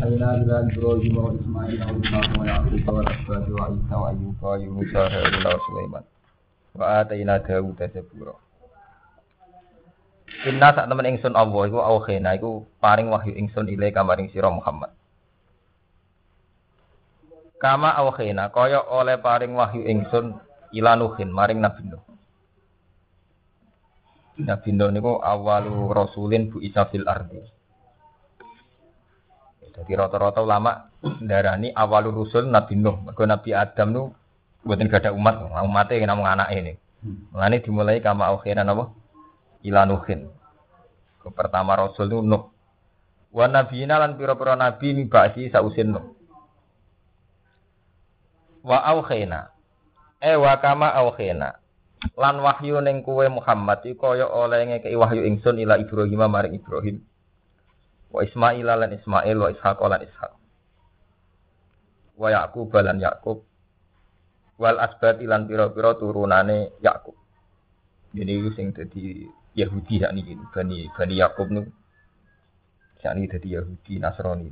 وأوحينا إلى إبراهيم وإسماعيل وإسحاق ويعقوب والأسباط وعيسى وأيوب ويونس وهارون وسليمان وآتينا داود زبورا. Inna sak temen ingsun Allah iku auhena iku paring wahyu ingsun ile kamaring sira Muhammad. Kama auhena kaya oleh paring wahyu ingsun ila Nuhin maring Nabi Nuh. Nabi Nuh niku awalu rasulin bu isa fil ardi. Jadi rata-rata ulama ndarani awalu rusul Nabi Nuh. Mergo Nabi Adam nu mboten gadah umat, umate namung anake ini. Mulane dimulai kama auhena napa? Ila Nuhin. Pertama rasul itu Nuh. Wa nabiyina lan pira-pira nabi mibasi sausin Nuh. Wa auhena. Wa kama auhena. Lan wahyu ning kowe Muhammad iki kaya oleh ngekeki wahyu ingsun ila Ibrahim maring Ibrahim. Wa Ismail lan Ismail wa Ishaq lan Ishaq. Wa Yaqub lan Yaqub. Wal asbat lan pira-pira turunane Yaqub. Jadi sing dadi Yahudi sakniki Bani Yakub nu sakniki dadi Yahudi Nasrani.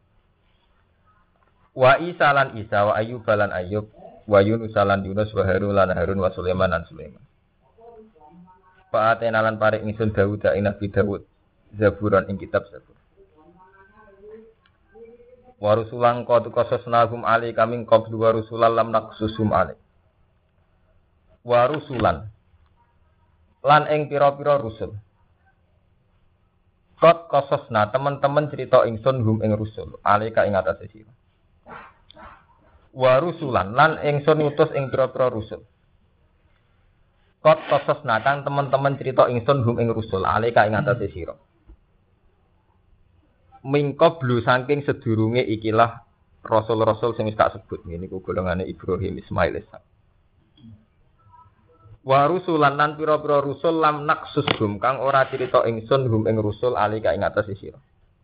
Wa Isa lan Isa wa Ayyub lan Ayyub wa Yunus lan Yunus wa Harun lan Harun wa Sulaiman lan Sulaiman. Fa atena lan paring ingsun Daud ing Nabi Daud Zaburan ing kitab Zabur. Wa rusulan qad qasasnahum ali kaming qablu wa rusulan lam naqsusum ali. Wa rusulan lan ing pira-pira rusul. Qad qasasna teman-teman cerita ingsun hum ing rusul, alika ing atase sira. Wa rusulan lan ingsun ngutus ing pira-pira rusul. Qad qasasna kan teman-teman cerita ingsun hum ing rusul, alika ing atase sira. Mingko blu saking sedurunge ikilah rasul-rasul sing wis tak sebut ngene iku golongane Ibrahim, Ismail, Ishaq. Wa rusulan lan pira-pira rusul lam naqsushum kang ora crita ingsun hum ing rusul alika ing atase sira.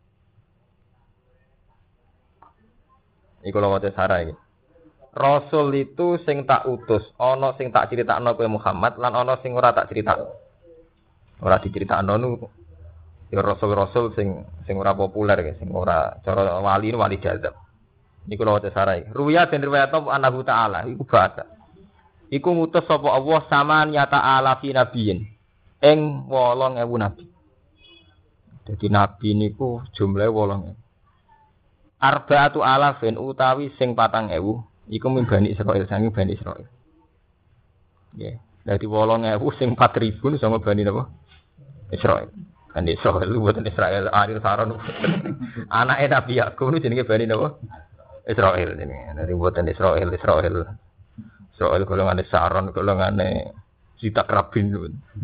Iku lho wae sarah iki. Rasul itu sing tak utus, ana sing tak critakno kowe Muhammad lan ana sing ora tak critakno. Ora diceritakno nu ya rasul-rasul sing ora populer ya, sing ora cara wali jazab. Niku lho wae sarah iki. Ruya den riwayat Allahu Ta'ala iku bahasa. Iku ngutus sapa Allah saman ya ta'ala fi nabiyin ing 8000 nabi. Dadi nabi niku jumlahe 8000. Arba'atu alafin utawi sing 4000 iku min Bani Israil sange Bani Israil. Nggih. Dadi 8000 sing 4000 sama Bani napa? Israil. Bani Israil boten Israil Aril Saron. Anake Nabi Yakub niku jenenge Bani napa? Israil jenenge. Dadi boten Israil. Soal golongane Saron, golongane Sitak Rabin.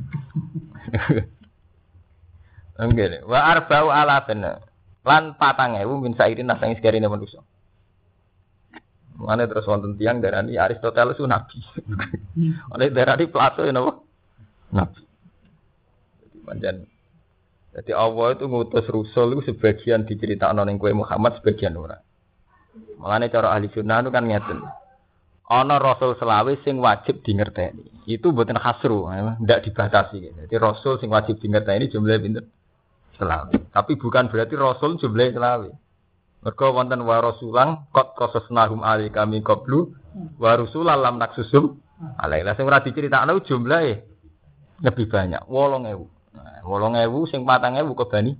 Nggih. Wa arba'u alafin lan 4000 min sairin nasang sekarine manusa. Mane terus wonten tiyang darani Aristoteles ku nabi. Oleh darani Plato ya napa? Nabi. Jadi pancen dadi Allah itu ngutus rusul itu sebagian diceritakno ning kowe Muhammad, sebagian ora. Mane cara ahli sunnah itu kan ngeten. Ana rasul selawe sing wajib dingerteni. Itu mboten hasru, ndak dibatasi. Jadi rasul sing wajib dingerteni jumlahe pinten? Selawe. Tapi bukan berarti rasul jumlahe selawe. Mergo wonten wa rasulang qad qasasnahum alika min qablu wa rusulan lam naqsusum alaila. Sing ora diceritakno jumlahe lebih banyak, 8000. Nah, 8000 sing 4000 ke Bani.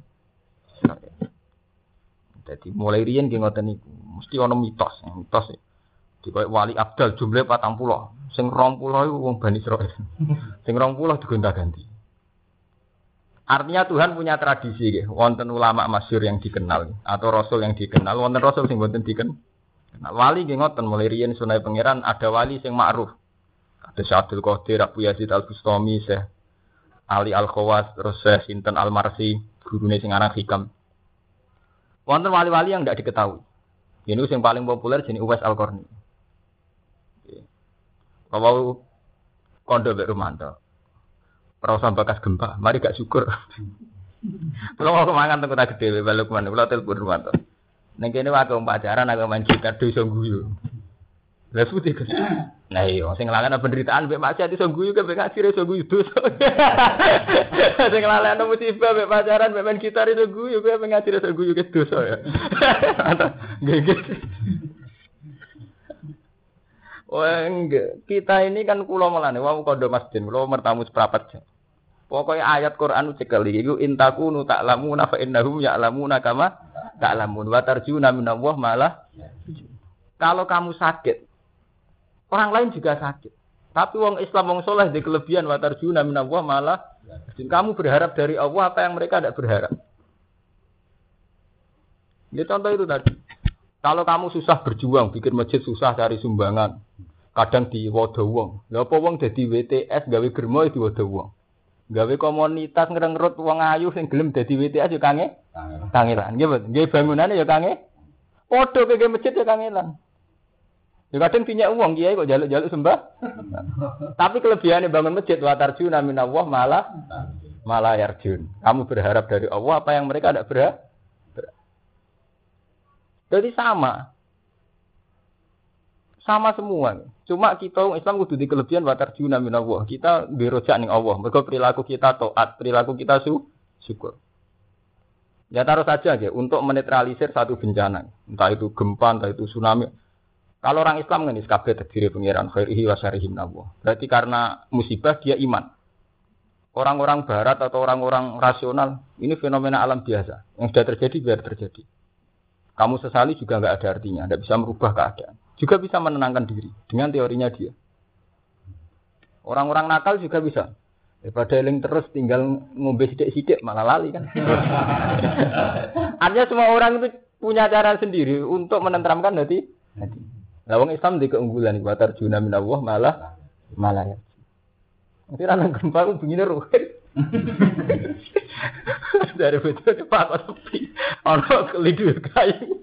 Jadi mulai riyen nggih ngoten niku. Mesti ana mitos. Dikoyo wali abdal jumlah 40. Sing 20 iku wong Bani Israil. Sing 20 digonta-ganti. Artinya Tuhan punya tradisi nggih. Wonten ulama masyhur yang dikenal atau rasul yang dikenal, wonten rasul sing mboten dikenal. Wali nggih ngoten mulai riyen sunai pangeran ada wali sing ma'ruf. Ada Syaikhul Qadir, Abu Yazid Al-Bustami, Syekh Ali Al-Khawas, terus Syekh Sinten Al-Marsi, gurune sing aran Hikam. Wonten wali-wali yang tidak diketahui. Ini yang paling populer jenis Uwais Al-Qarni. Kalau kondo Mbak Rumanto, perasaan bakas gempa, mari gak syukur. Kalau mau kemangan tengku tak gede, balik kemana? Kalau telepon Rumanto. Neng kene wae pacaran, agak main gitar, dosa guyu. Lah putih kan. Nah iya sing nglakoni penderitaan mbek maksiat iso guyu ke mbek ngaji iso guyu dosa. Sing nglakoni musibah mbek pacaran mbek main gitar iso guyu ke mbek ngaji iso guyu ke dosa ya. Nggih. Enggak. Kita ini kan kula melane wau kondo masjid, kula mertamu seprapat jam. Pokoknya ayat Quran cekel iku intakunu ta'lamuna fa innahum ya'lamuna kama ta'lamun wa tarjuna minallah malah. Kalau kamu sakit, orang lain juga sakit. Tapi wong Islam wong saleh di kelebihan wa tarjuna minallah malah. Kamu berharap dari Allah apa yang mereka tidak berharap. Ini contoh itu tadi. Kalau kamu susah berjuang, bikin masjid susah cari sumbangan. Kadang diwodo wong. Lha apa wong dadi WTS gawe germo diwodo wong. Gawe komunitas ngrengrut wong ayu sing gelem dadi WTS yo kangelan. Nggih mboten? Nggih bangunane yo padha kaya masjid yo kangelan. Ya kadang pinyak wong kiai kok jaluk-jaluk sembah. Tapi kelebihannya bangun masjid wa tarjuna minallah malah yarjun. Kamu berharap dari Allah apa yang mereka tidak berharap. Jadi sama semua. Cuma kita orang Islam kudu di kelebihan wa tarjuna minallah. Kita dirojak ning Allah. Mergo perilaku kita taat, perilaku kita syukur. Ya taruh saja aja untuk menetralisir satu bencana. Entah itu gempa, entah itu tsunami. Kalau orang Islam kan kabeh terdiri pengiran khairihi wa syarrihi minallah. Berarti karena musibah dia iman. Orang-orang barat atau orang-orang rasional ini fenomena alam biasa. Yang sudah terjadi biar terjadi. Kamu sesali juga enggak ada artinya, tidak bisa merubah keadaan. Juga bisa menenangkan diri dengan teorinya dia. Orang-orang nakal juga bisa. Daripada eling terus tinggal ngombe sidik-sidik malah lali kan. Artinya semua orang itu punya cara sendiri untuk menenteramkan hati. Lah wong Islam di keunggulan wa tarjuna minallah malah ya. Nanti ana gempa ku begini ruwet. Dari betul Pak sepi. Ono kelidu kayu.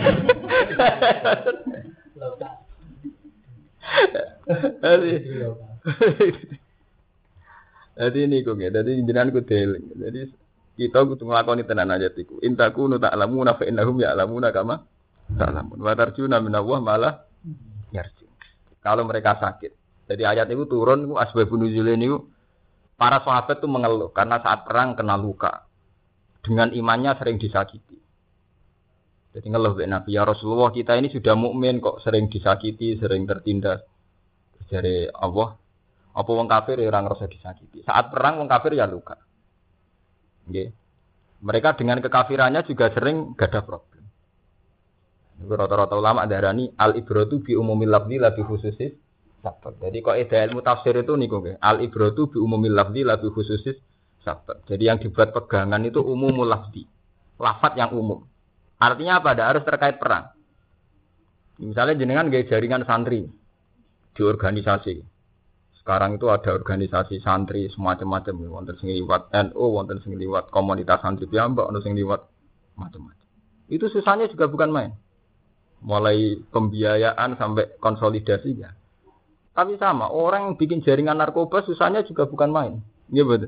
Jadi ini kok ya. Jadi jenengan ku deling. Jadi kita kudu nglakoni tenan aja iku. Intakunu ta'lamuna fa innahum ya'lamuna kama ta'lamun. Wa tarjuna minallah malah yarji. Kalau mereka sakit. Jadi ayat itu turun itu asbabun nuzul niku para sahabat itu mengeluh karena saat perang kena luka. Dengan imannya sering disakiti. Jadi ngeluh Nabi ya Rasulullah kita ini sudah mukmin kok sering disakiti, sering tertindas. Dari Allah, apa wong kafir ya ora ngrasa disakiti. Saat perang wong kafir ya luka. Nggih. Mereka dengan kekafirannya juga sering gak ada problem. Rata-rata ulama darani al-ibratu bi umumil lafzi la bi khususis sabab. Jadi kok ilmu tafsir itu niku nggih. Al-ibratu bi umumil lafzi la bi khususis sabab. Jadi yang dibuat pegangan itu umumul lafzi. Lafaz yang umum. Artinya apa? Ada harus terkait perang. Misalnya jenengan nggih jaringan santri di organisasi. Sekarang itu ada organisasi santri semacam-macam, wonten sing liwat NU, wonten sing liwat komunitas santri piyambak, wonten sing liwat macam-macam. Itu susahnya juga bukan main. Mulai pembiayaan sampai konsolidasi ya. Tapi sama, orang yang bikin jaringan narkoba susahnya juga bukan main. Iya betul.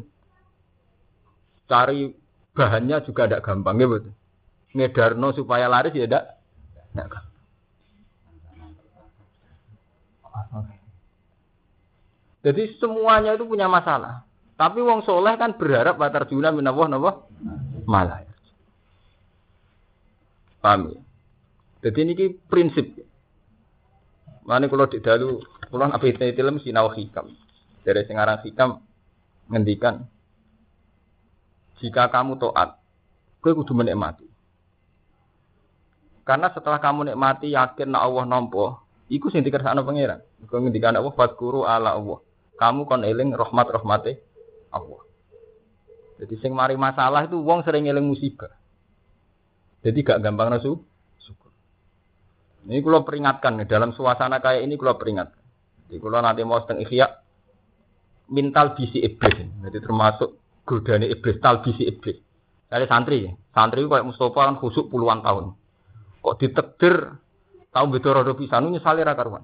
Cari bahannya juga tidak gampang, iya betul. Ngedarno supaya laris ya tidak gampang. Jadi semuanya itu punya masalah. Tapi wong soleh kan berharap wa tarjuna minallah malah. Paham ya? Jadi ini prinsip. Mane kalau di dalu kula ape film sinau hikam. Dari sing aran hikam ngendikan jika kamu taat, kowe kudu menikmati. Karena setelah kamu nikmati yakin nek Allah nampa, iku sing dikersakno pangeran. Kok ngendikan Allah fadkuru ala Allah. Kamu kon eling rahmat-rahmate Allah. Jadi sing mari masalah itu wong sering eling musibah. Jadi gak gampang nasu syukur. Ini kula peringatkan dalam suasana kayak ini kula peringatkan. Jadi kula nanti mau seteng ikhya mental bisi iblis. Jadi termasuk godane iblis, tal bisi iblis. Dari santri itu kayak Mustafa kan khusuk puluhan tahun. Kok ditakdir tahu betul rodo pisan nyesali ra karuan.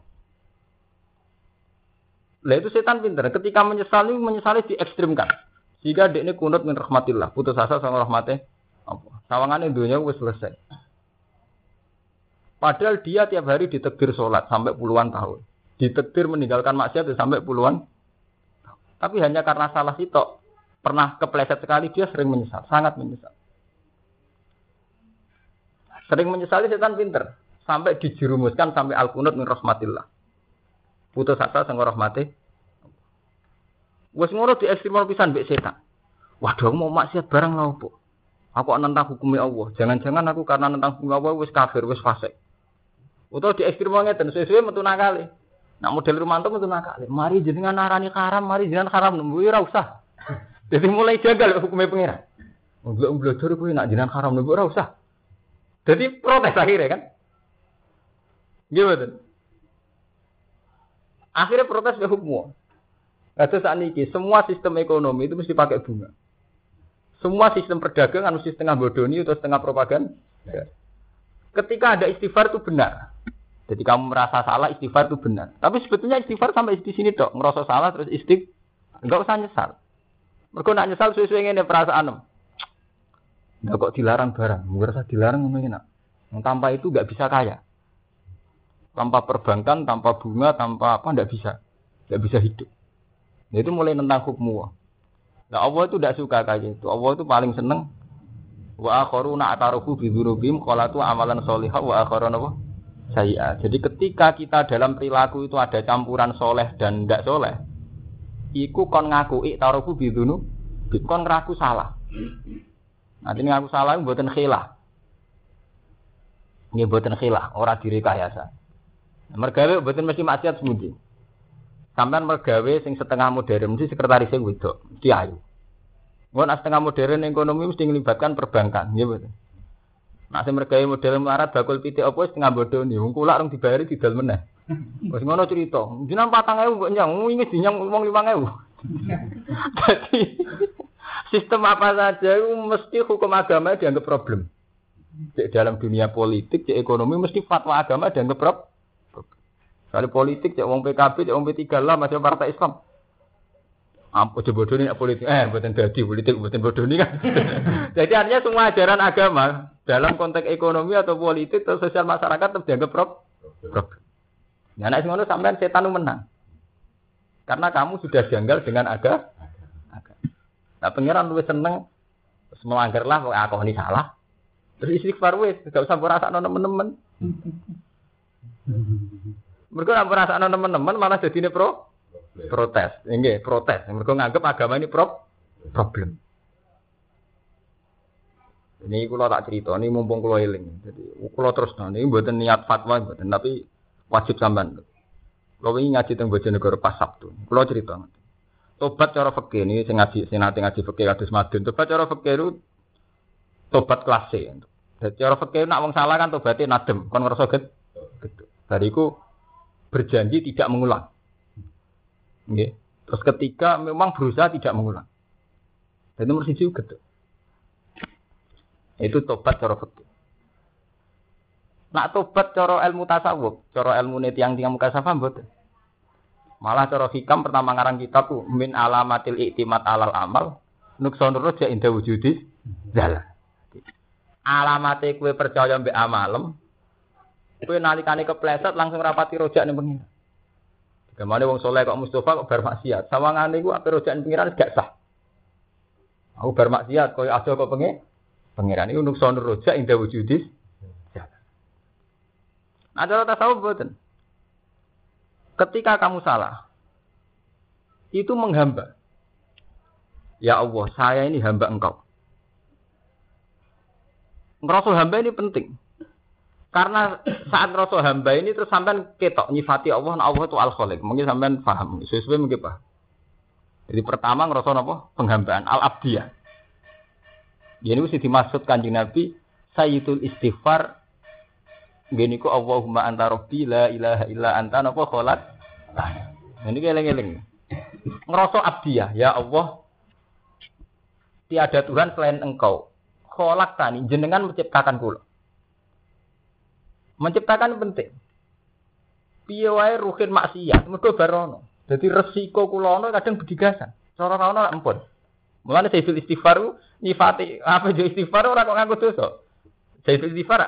Lah itu setan pinter. Ketika menyesali diekstrimkan. Jika dia ini kunut min rahmatillah, putus asa sama rahmatnya Allah. Sawangane dunia wis selesai. Padahal dia tiap hari ditegir sholat sampai puluhan tahun. Ditegir meninggalkan maksiat sampai puluhan. Tapi hanya karena salah sitok, pernah kepleset sekali, dia sering menyesal, sangat menyesal. Sering menyesali setan pinter. Sampai dijerumuskan sampai al-qunut min rahmatillah. Putus asa sang rahmati. Wes ngono di ekstremal pisan mbek setan. Waduh mau maksiat barang lha opo? Aku nentang hukumnya Allah. Jangan-jangan aku karena nentang hukum Allah wis kafir, wis fasik. Utawa di ekstremal ngeten sesuai metu nakale. Nak model Rumanto metu nakale. Mari jenengan narani haram, mari jenengan haram nembe ora usah. Jadi mulai jagal hukumnya pengiran. Mbok-mbok kuwi nak jenengan haram nembe ora usah. Jadi protes akhirnya kan. Gimana? Akhirnya protes ke hukum. Kata saat ini, semua sistem ekonomi itu mesti pakai bunga. Semua sistem perdagangan mesti setengah bodoni atau setengah propaganda. Ketika ada istighfar itu benar. Jadi kamu merasa salah, istighfar itu benar. Tapi sebetulnya istighfar sampai di sini dok. Ngerasa salah terus enggak usah nyesal. Mereka nak nyesal sesuai dengan perasaan. Enggak kok dilarang barang. Merasa dilarang ngomongin nak. Tanpa itu enggak bisa kaya. Tanpa perbankan, tanpa bunga, tanpa apa enggak bisa hidup. Nah, itu mulai tentang hukum. Nah, Allah itu tidak suka kayak gitu. Allah itu paling seneng wa akharuna ataruhu bi dzurubim qalatu amalan sholihah wa akharuna apa? Sayyi'ah. Jadi ketika kita dalam perilaku itu ada campuran soleh dan tidak soleh, iku kon ngaku taruhu bi dzunub, kon ngaku salah. Nanti ngaku salah mboten khilah. Nggih mboten khilah, ora direkayasa. Mergawe mboten mesti maksiat semundi. Sampeyan mergawe sing setengah modern mesti sekretaris sing wedok, mesti ayu. Mun setengah modern ekonomi mesti ngelibatkan perbankan, nggih mboten. Nek sing mergawe model melarat bakul pitik apa setengah bodoni, wong kulak rong dibayari didol meneh. Wis ngono cerita. Jenengan 4.000 mbok nyang, wingi dinyang wong 5.000. Dadi sistem apa saja itu mesti hukum agama dianggap problem. Cek dalam dunia politik, cek ekonomi mesti fatwa agama dianggap problem. Kalau politik, cek wong PKB, cek wong P3 lah, masih partai Islam. Apa coba bodoh ini politik? Buatan dadi politik, buatan bodoh ini kan. Jadi artinya semua ajaran agama dalam konteks ekonomi atau politik atau sosial masyarakat tetap dianggap problem. Nah, nek ngono sampean setan menang. Karena kamu sudah janggal dengan agama. Nah, pangeran luwih seneng melanggarlah kok aku ini salah. Terus istighfar wis, gak usah merasakno teman-teman. Mereka nak perasaan teman-teman malah jadi protes. Nggih, protes. Mereka nganggep agama ini problem. Ini kula tak cerita, ini mumpung kula eling. Jadi kula terus ini mboten niat fatwa mboten, tapi wajib sampean. Kula wingi ngaji teng Bojonegoro pas Sabtu. Kula cerita. Tobat cara fikih ini sing nate ngaji fikih kados madun. Tobat cara fikih itu tobat kelas C. Jadi cara fikih nak wong salah kan tobaté nadem, kon ngrasa gedhe. Bariku berjanji tidak mengulang. Nggih. Terus ketika memang berusaha tidak mengulang. Dan nomor 1 gedhe. Itu tobat cara fikih. Nak tobat cara ilmu tasawuf, cara ilmune tiyang-tiyang mukasafah mboten. Malah cara hikam pertama ngarang kitab ku min alamatil i'timad alal amal nuksonur raja inda wujudi zalal. Alamate kowe percaya mbek amalem, kowe nalikane kepleset langsung rapati rojak ning pengiran. Digamane wong saleh kok Mustofa kok bar maksiat. Sawangane iku ape rojak ning pengiran gak sah. Aku bar maksiat koyo aja kok pengiran iku nuksonur rojak inda wujudi. Nah, cara tasawuf boten. Ketika kamu salah, itu menghamba. Ya Allah, saya ini hamba Engkau. Ngerasa hamba ini penting. Karena saat ngerasa hamba ini terus sampean ketok nyifati Allah, nah Allah itu Al-Khaliq. Mungkin sampean paham, sesuai mungkin Pak. Jadi pertama ngerasa apa? Penghambaan Al-Abdiyah. Ini mesti dimaksud Kanjeng Nabi Sayyidul Istighfar. Gini ku Allahumma anta rabbi la ilaha illa anta napa kholaq. Ini eling-eling. Ngerasa abdiyah, ya Allah. Tiada Tuhan selain Engkau. Kholaq tani jenengan menciptakan kula. Menciptakan penting. Piye wae ruhin maksiat mergo barono. Dadi resiko kula ana kadang bedigasan. Cara ana ampun. Mulane Sayyidul Istighfar nyifati apa jo istighfar ora kok nganggo dosa. Sayyidul Istighfar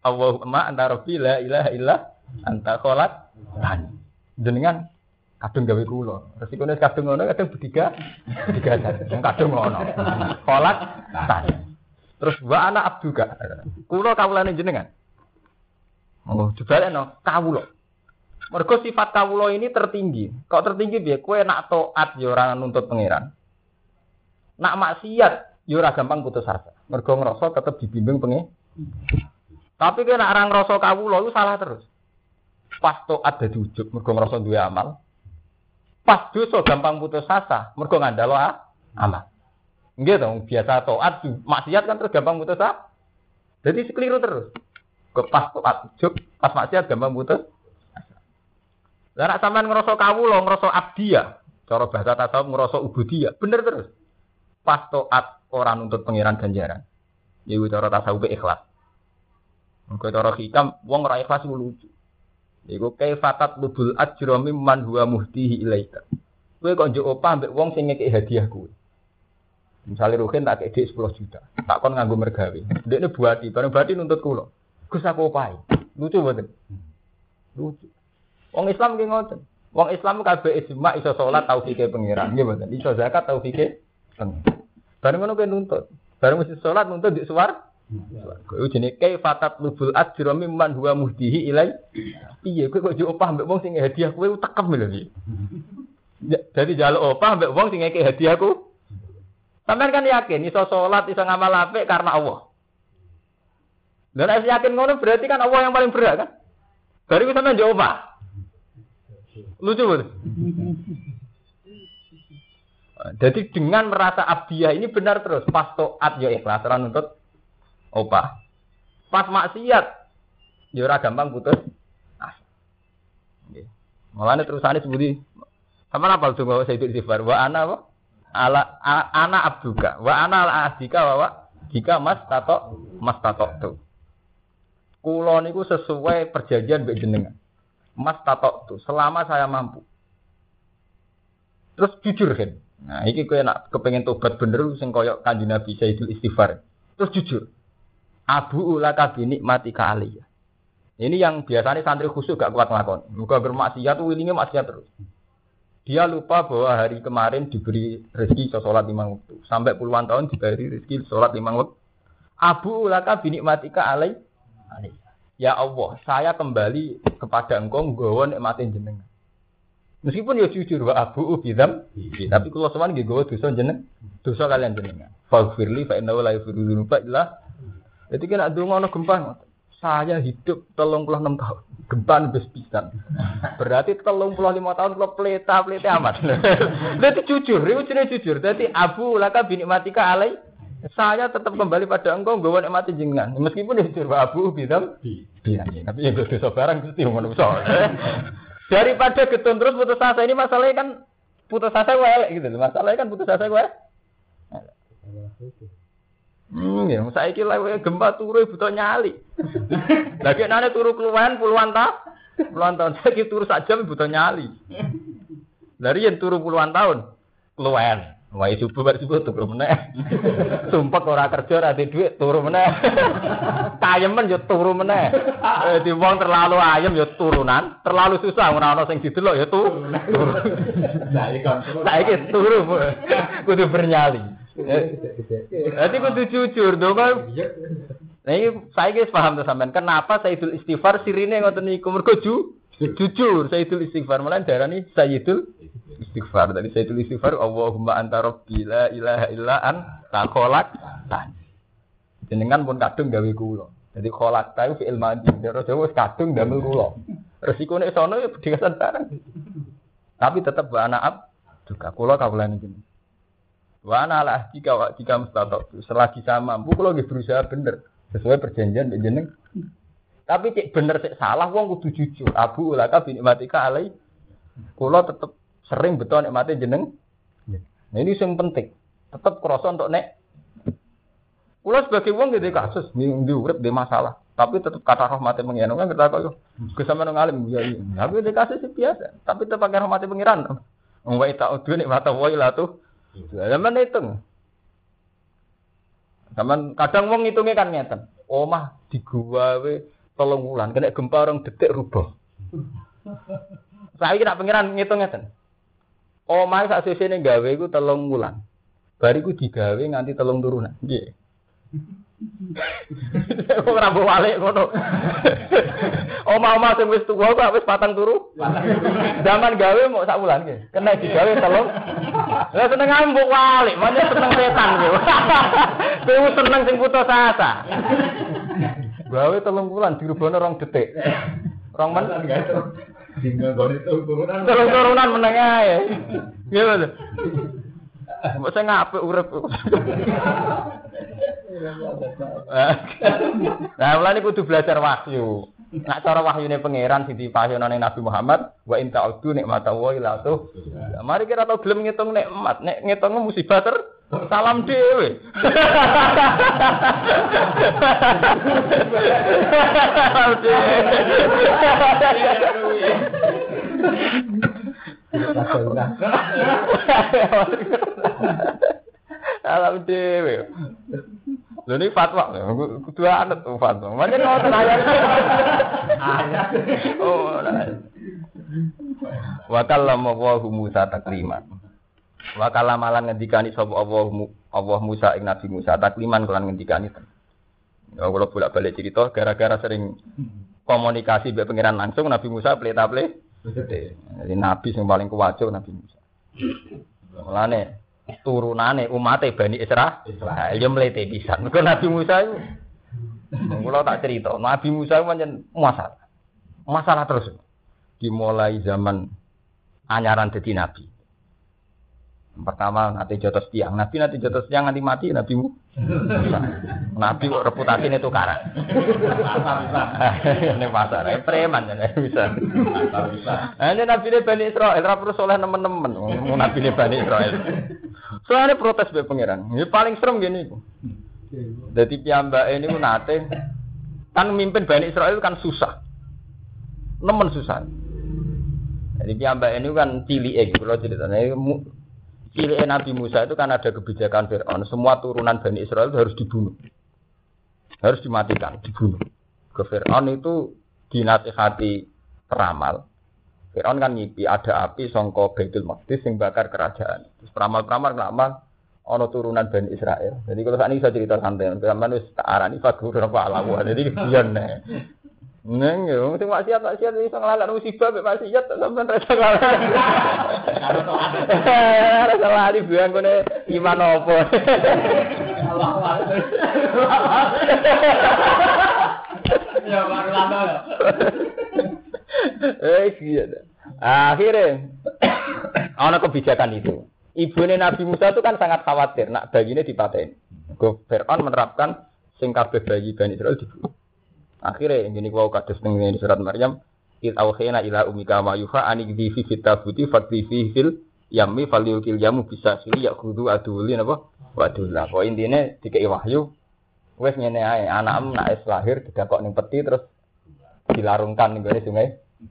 Allahumma anta rabbi la ilaha illa anta khalaqtani. Jenengan kadung gawe kula. Resikone kadung ngono kadung bediga wong kadung ngono. Khalaqtani. Terus wa ana abduka. Kula kawulane jenengan. Oh, jebaleno kawula. Mergo sifat kawula ini tertinggi. Kok tertinggi piye? Kowe nak taat ya ora nuntut pangeran. Nak maksiat ya ora gampang putus asa. Mergo ngrasa tetep dibimbing pengen. Tapi kowe nak ora ngrasa kawula iku salah terus. Pas taat dadi ujug mergo ngrasa duwe amal. Pas dosa gampang putus asa mergo ngandalo amal. Nggih to, biasa taat maksiat kan terus gampang putus asa. Jadi sekeliru terus. Pas taat ujug, pas maksiat gampang putus. Lah nek sampean ngrasa kawula, ngrasa abdiyah, cara bahasa tasawuf ngrasa ubudiyah, bener terus. Pas taat ora nuntut pangeran ganjaran. Iku cara tasawuf ikhlas. Mengko cara hikam wong ora ikhlas iku lucu. Iku kaifatat lubul ajra mimman huwa muhtihi ilaika. Kowe kok njuk opah mbek wong sing ngekeki hadiah kowe. Misale Ruhin tak kek 10 juta, tak kon nganggo mergawe. Ndekne buati, bareng buati nuntut kula. Gus aku opahi. Lucu mboten? Lucu. Wong Islam ki ngoten. Wong Islam kabeh ijma iso salat taufike pangeran, nggih mboten? Iso zakat taufike pangeran. Bareng ngono kowe nuntut. Bareng mesti salat nuntut di suwar. Kowe jenenge kaifatat lubul ajra mimman huwa muhdihi ilai. Piye kowe kok njuk opah mbek wong sing hadiah kowe tekem lho iki. Dadi njaluk opah mbek wong sing ngekek hadiahku. Sampeyan kan yakin iso salat, iso ngamal apik karena Allah. Lah nek yakin ngono berarti kan Allah yang paling berat kan? Baru sampeyan njuk opah. Lucu betul. Jadi dengan merasa abdiyah ini benar terus. Pas taat ya ikhlas ora nuntut opah. Pas maksiat ya ora gampang putus asa. Nggih. Mulane terusane sebuti sama apa donga Sayyidul Istighfar wa ana apa? Ana abduka wa ana al-ahdika wa jika mas tato tu. Kula niku sesuai perjanjian mbek jenengan. Mas tato tu selama saya mampu. Terus jujur kan. Nah, iki kowe nak kepengin tobat bener sing kaya Kanjeng Nabi Sayyidul Istighfar. Terus jujur. Abu ulaka bi nikmatika aliyah. Ini yang biasanya santri khusyuk gak kuat nglakon. Muga bermaksiat wilinge maksiat terus. Dia lupa bahwa hari kemarin diberi rezeki salat 5 waktu. Sampai puluhan tahun diberi rezeki salat 5 waktu. Abu ulaka bi nikmatika aliyah. Ya Allah, saya kembali kepada Engkau nggawa nikmatin jenengan. Meskipun ya jujur wa abu bidam, tapi kula sowan nggih nggawa dosa jenengan, dosa kalian jenengan. Faghfirli fa innahu la yaghfiru dzunuba illa. Dadi kena ndonga ana gempa. Saya hidup 36 tahun. Gempa wis pisan. Berarti 35 tahun kula pleta-plete amat. Dadi jujur, iku jenenge jujur. Dadi abu laka bi nikmatika alai. Saya tetap kembali pada Engkau nggawa nikmati jenengan. Meskipun ya jujur wa abu bidam. Iya, tapi ya dosa barang mesti ngono iso. Daripada getun terus putus asa ini masalahnya kan putus asa gue elek gitu. Masalahnya kan putus asa gue. Ya, saya kira gempa turu butuh nyali. Lagi nane turu keluhan puluhan tahun. Saya kira turu saja butuh nyali. Dari yang turu puluhan tahun keluhan. Wah subuh turu meneh. Sumpah ora kerja ora duit turu meneh. Tayemen yo turu meneh. Di wong terlalu ayem yo turunan, terlalu susah ora ono sing didelok yo turu. Saiki turu. Kudu bernyali. Dadi kudu jujur dong. Nah iki saiki wis paham to sampean kenapa Sayyidul Istighfar sirine ngoten niku mergo jujur Sayyidul Istighfar malah darani Sayyidul Istighfar. Dari Sayyidul Istighfar Allahumma anta rabbi la ilaha illa anta khalaqtani. Jenengan pun kadung gawe kula. Jadi khalaqta iku fi'il madhi. Cara Jawa wis kadung damel kula. Resikone sono ya bedhegasan barang. Tapi tetep wa ana juga kula kawulane jenengan. Wa ana ala ahdika wa jika mustatab. Selagi saya mampu kula nggih berusaha bener sesuai perjanjian mbek jeneng. Tapi cek bener cek salah wong kudu jujur. Abu ulaka bi nikmatika alai. Kula tetep sering betul nikmate jeneng. Nah ini yang penting. Tetap krasa untuk nek. Kula sebagai wong nggih kasus ndi urip dhe masalah, tapi tetap kata rahmate pengiran kan kita kok Gus sampeyan ngalim ya iya. Tapi dhe kasus biasa, tapi tetap pakai rahmate pengiran. Wong wae tak udu nek mata wae lah tuh. Zaman hitung. Zaman kadang wong ngitunge kan ngeten. Omah digawe 3 wulan kena gempa orang detik rubuh. Saiki nak pengiran ngitung ngeten. Omahe sak sesene gawe iku 3 wulan. Bariku digawe nganti 3 turunan. Nggih. Ora mbok walik ngono. Omah-omah sing wis tuwa kok wis 4 turu. Zaman gawe mok sak wulan nggih. Kena digawe 3. Lah seneng mbok walik, mane seneng setan nggih. Kowe seneng sing putus asa. Gawe 3 wulan dirubahne 2 detik. 2 men tinggal gone turunan. Turunan meneng ae. Nggih lho. Mbok sing apik urip. Nah, mulane kudu belajar wahyu. Nak cara wahyune pangeran sing dipasyono Nabi Muhammad, wa in ta'udu nikmatallahi la tuh. Mari kira tau gelem ngitung nikmat, nek ngitung musibah salam dhewe. Salam dhewe. Lho ini fatwa, kudu anut fatwa. Macam ngoten ayat. Oh, wa kallama Allahu Musa takliman. Wa kallama lan ngendikani sapa Allah Musa ing Nabi Musa takliman kelan ngendikani. Ya kula bolak-balik cerita gara-gara sering komunikasi mbek pangeran langsung Nabi Musa pleta-ple. Jadi nabi sing paling kuwajo Nabi Musa. Mulane turunane umate Bani Israil ya mlete pisan. Mergo Nabi Musa iku kula tak cerita, Nabi Musa pancen masalah terus. Dimulai zaman anyaran dadi nabi. Pertama nanti jotos tiang, nabi nanti jotos tiang nganti mati Nabi Musa. Nabi kok reputasine tukaran. Ning pasar, preman bisa. Ini Nabi Bani Israil, ora perlu soleh nemen-nemen. Nabi Bani Israil. Soalnya protes be pangeran. Ini paling serem gini. Jadi piyambake niku nate kan mimpin Bani Israil kan susah. Nemen susah. Jadi piyambake niku kan cilike kula ceritane. Cilike Nabi Musa itu kan ada kebijakan Firaun, semua turunan Bani Israil itu harus dibunuh. Harus dimatikan, dibunuh. Ke Firaun itu dinasihati peramal. Firaun kan ngipi ada api sangka Baitul Maqdis sing bakar kerajaan. Terus peramal-peramal nglamat ana turunan Bani Israil. Jadi kalau sakniki iso cerita santai, sampeyan wis tak arani fagur apa alawa. Jadi biyen nek. Neng yo sing maksiat iso nglalak musibah mek maksiat sampeyan rasa nglalak. Rasa lali biang kene iman opo. Ya baru lama. Iya. Akhirnya ana kebijakan itu. Ibune Nabi Musa itu kan sangat khawatir nak bayinya dipateni. Firaun menerapkan sing kabeh bayi Bani Israil dibunuh. Akhirnya ini wau kados ning surat Maryam, "Il auhayna ila ummika ma yuha anigdi fi fitabuti fakti fi fil yammi falyukil yamu bisa sili yaqudu aduli napa? Wadullah. Kok intine dikei wahyu wis ngene ae, anakmu nek wis lahir didakok ning peti terus dilarungkan ning gone sungai.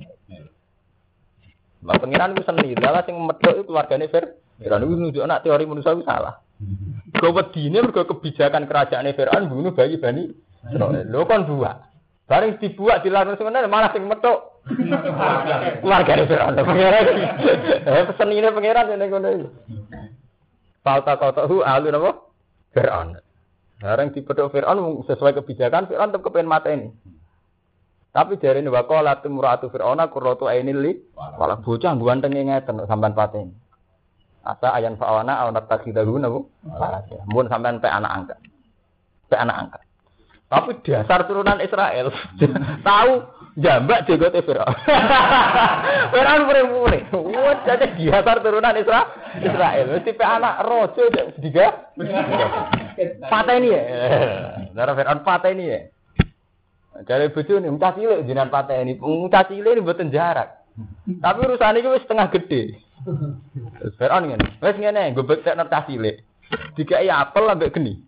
Lah pengiran ku seni, lha sing medhok iku keluargane Firaun iku nunjuk anak teori manusia itu salah. Kok wedine mergo kebijakan kerajaan Firaun bunuh bayi Bani Israil. Lho kon buak. Bareng dibuak dilarung sebenarnya malah sing metuk. Keluargane Firaun. Pengiran. Pesenine pengiran ning ngono iku. Faltaqatahu alu napa? Firaun. Bareng dipethuk Firaun sesuai kebijakan Firaun tetep kepen mateni. Tapi jarene waqala tumratu Firauna qurratu ainil li wala bocah gantenge ngeten sampean pateni. Asa ayan fa'wana aw natakhidahu napa? Mun sampean pe anak angkat. Pe anak angkat. Tapi dasar turunan Israel tahu jambak jegote Firaun. Firaun pure-pure. Wah, jadi dasar turunan Israel. Mesti pe anak raja diga. Pateni ya. Darah Firaun pateni ya. Dari bojone mucah cilik jenengan pateni. Mucah cilik ini mboten jarak. Tapi urusan iki wis setengah gede. Firaun ngene. Wis ngene, nggo bektekno cah cilik. Dikai apel ambek geni.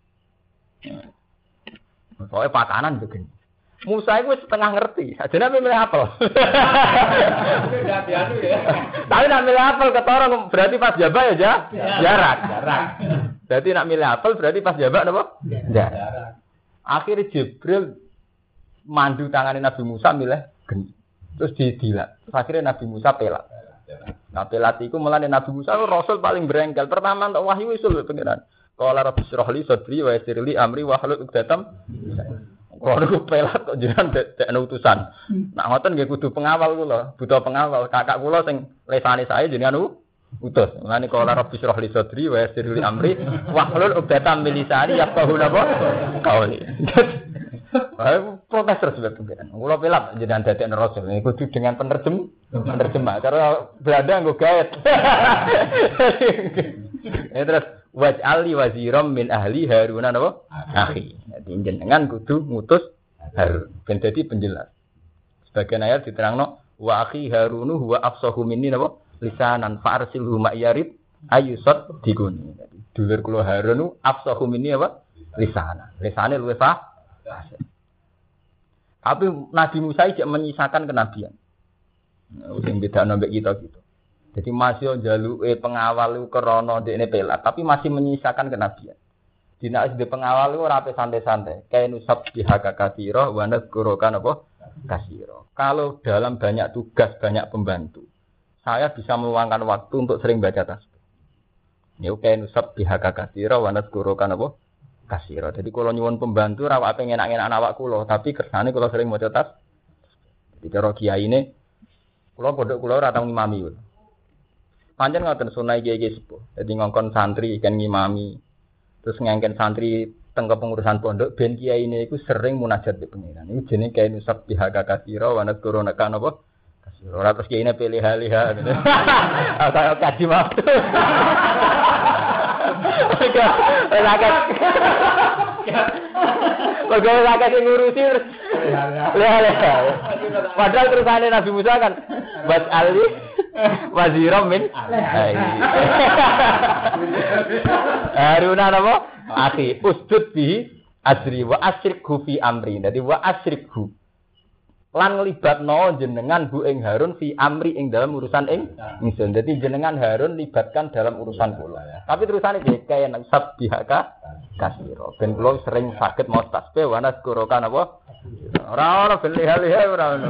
Soalnya pakanan begini. Musa itu setengah ngerti. Sajane milih apel. Tapi nak milih apel ketorong berarti pas jabak ya jarak. Berarti nak milih apel berarti pas jabak napa? Jarak. Akhirnya Jibril mandu tangane Nabi Musa milih geni. Terus didilat. Terus akhirnya Nabi Musa pelat. Nah pelat iku mulane Nabi Musa rasul paling berengkel. Pertama untuk wahyu usul pengiran. Qala rabbi shrah li sadri wa yassir li amri wa hlul 'uqdatam. Kalau aku pelat kok jenengan dekne utusan. Nak ngoten nggih kudu pengawal kula, butuh pengawal. Kakak kula sing lesane saya jenengan utus. Mulane qala rabbi shrah li sadri wa yassir li amri wa hlul 'uqdatam min lisani yafqahu napa qauli. Protes terus pengiran. Kula pelat jenengan dadekne rasul. Kudu dengan penerjemah. Cara Belanda nggo gaet. Terus waj'ali waziram min ahli Harun napa? Akhi. Dadi jenengan kudu ngutus Harun ben dadi penjelas. Sebagian ayat diterangno wa akhi Harunu huwa afsahu minni napa? Lisanan fa'arsilhu ma'yarid ayyusad diguni. Dadi dulur kula Harun afsahu minni apa? Lisanan. Lisane luwih tapi Nabi Musa tidak menyisakan kenabian. Sing bedakno mbek kita gitu. Jadi masih njaluke pengawal iku krana ndekne pelat, tapi masih menyisakan kenabian. Dina SD pengawal iku ora ape santai-santai. Kainu sabbiha katsira wa nadhkuruka apa? Katsira. Kalau dalam banyak tugas, banyak pembantu, saya bisa meluangkan waktu untuk sering baca tasbih. Ya kainu sabbiha katsira wa nadhkuruka apa? Katsira. Jadi kalau nyuwun pembantu ora ape ngenak-enak awak kula, tapi kersane kula sering maca tasbih. Jadi cara kiyaine kula pondok kula ora tau ngimami. Pancen ngoten sunah kiai-kiai sepuh. Jadi ngongkon santri kan ngimami. Terus ngengken santri teng kepengurusan pondok ben kiyaine iku sering munajat be pengiran. Iku jenenge kiai nusab bihaga kasira wa nadkuruna kan apa? Kasira. Ora terus kiyaine pilih-pilih. Ata kaji waktu. Pegawai rakyat yang ngurusi lihat. Padahal terusane Nabi Musa kan buat Ali waziram min Harun apa? Akhi usdud bi asri wa asrikhu fi amri. Jadi wa asrikhu lan nglibatno jenengan bu ing Harun fi amri ing dalam urusan ing ingsun. Dadi jenengan Harun libatkan dalam urusan kula. Tapi terusane iki kaya sab bihaka kasiro. Ben kula sering saged maos tasbih wa nazkuruka napa? Ora ono beli-beli ora ono.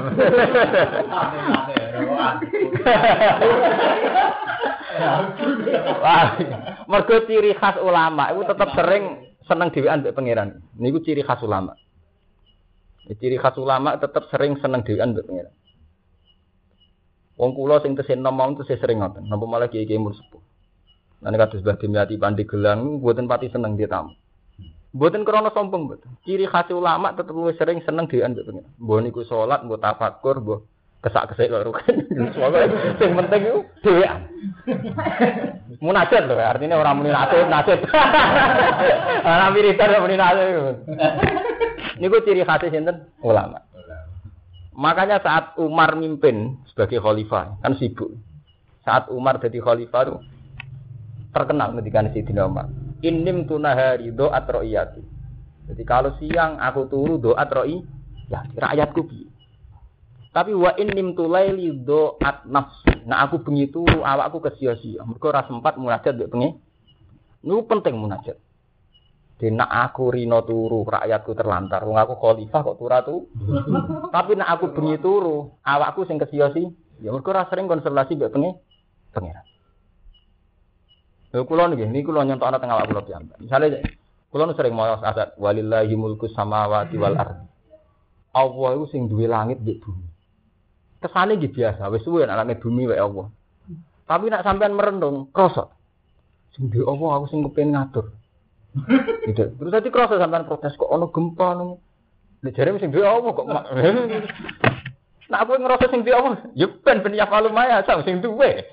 Mergo ciri khas ulama iku tetep sering seneng dhewean mbek pangeran. Niku ciri khas ulama. Ciri khas ulama tetap sering seneng dhewean mbek pengiran. Wong kula sing tesih nom tesih sering ngoten. Napa malah kiai-kiai mur sepuh. Lan kados Mbah Dimyati Pandi Gelang mboten pati seneng dia tamu. Mboten krana sombong mboten. Ciri khas ulama tetep luwih sering seneng dhewean mbek pengiran. Mbah niku salat, mbah tafakur, mbah kesak-kesik kok rugen. Sing penting iku dhewean. Munajat lho, artinya ora muni nasib. Ora wiridan muni nasib. Niku ciri khas sinten? Ulama. Makanya saat Umar mimpin sebagai khalifah, kan sibuk. Saat Umar jadi khalifah itu terkenal ketika Sayyidina Umar. Innim tunahari do'at ro'iyati. Jadi kalau siang aku turu do'at ro'iyati, rakyatku piye. Tapi wa innim tulaili do'at nafsi. Nah aku bengi turu awakku kesia-sia. Mergo ora sempat munajat mbek bengi. Niku penting munajat. Nak aku rino turu, rakyatku terlantar. Wong aku khalifah kok turu. Tapi nak aku bengi turu, awakku sing kesiosi. Ya mergo ora sering konsultasi mbek pangeran. Lha kula niki kula nyontokno teng awak kula piyambak. Misale kula nu sering maos ayat walillahi mulku samawati wal ardi. Allah iku sing duwe langit mbek bumi. Kesane iki biasa, wis suwe nek langit bumi wae Allah. Tapi nak sampean merenung, krasa. Sing duwe Allah aku sing kepengin ngatur. Gitu. Terus tadi kroso sampean protes kok ono gempa nang. Nek jare sing duwe apa kok. Nek aku ngerasa sing duwe apa? Ya ben ya falumaya sing duwe.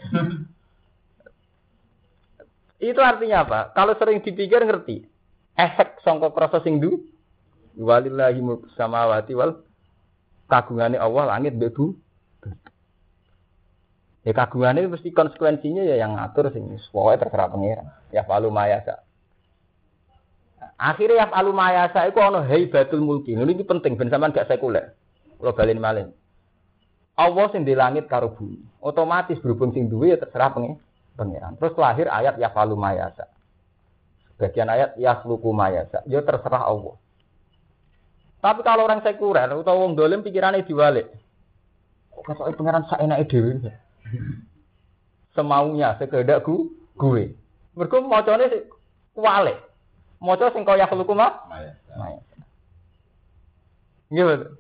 Itu artinya apa? Kalau sering dipikir ngerti. Efek sangka kroso sing duwe walillahi mulku samawati wal kagungane Allah langit mbek bumi. Ya kagungane mesti konsekuensinya ya yang ngatur sing pokoke terserah pangeran. Ya falumaya akhirnya yang alumayasa itu ana haibatul mulki. Ini penting ben sampean gak sekuler. Kula balen malih. Allah sing di langit karo bumi. Otomatis berhubung sing duwe ya terserah pangeran. Terus lahir ayat ya falumayasa. Bagian ayat ya khluqu mayasa. Ya terserah Allah. Tapi kalau orang sekuler utawa wong dolim pikirannya diwalik. Kok ketoke pangeran sak enake dhewe. Semaunya sekehendak gue. Mergo macane kuwalik. Maca sing kaya khuluku mah. Maya. Nggih.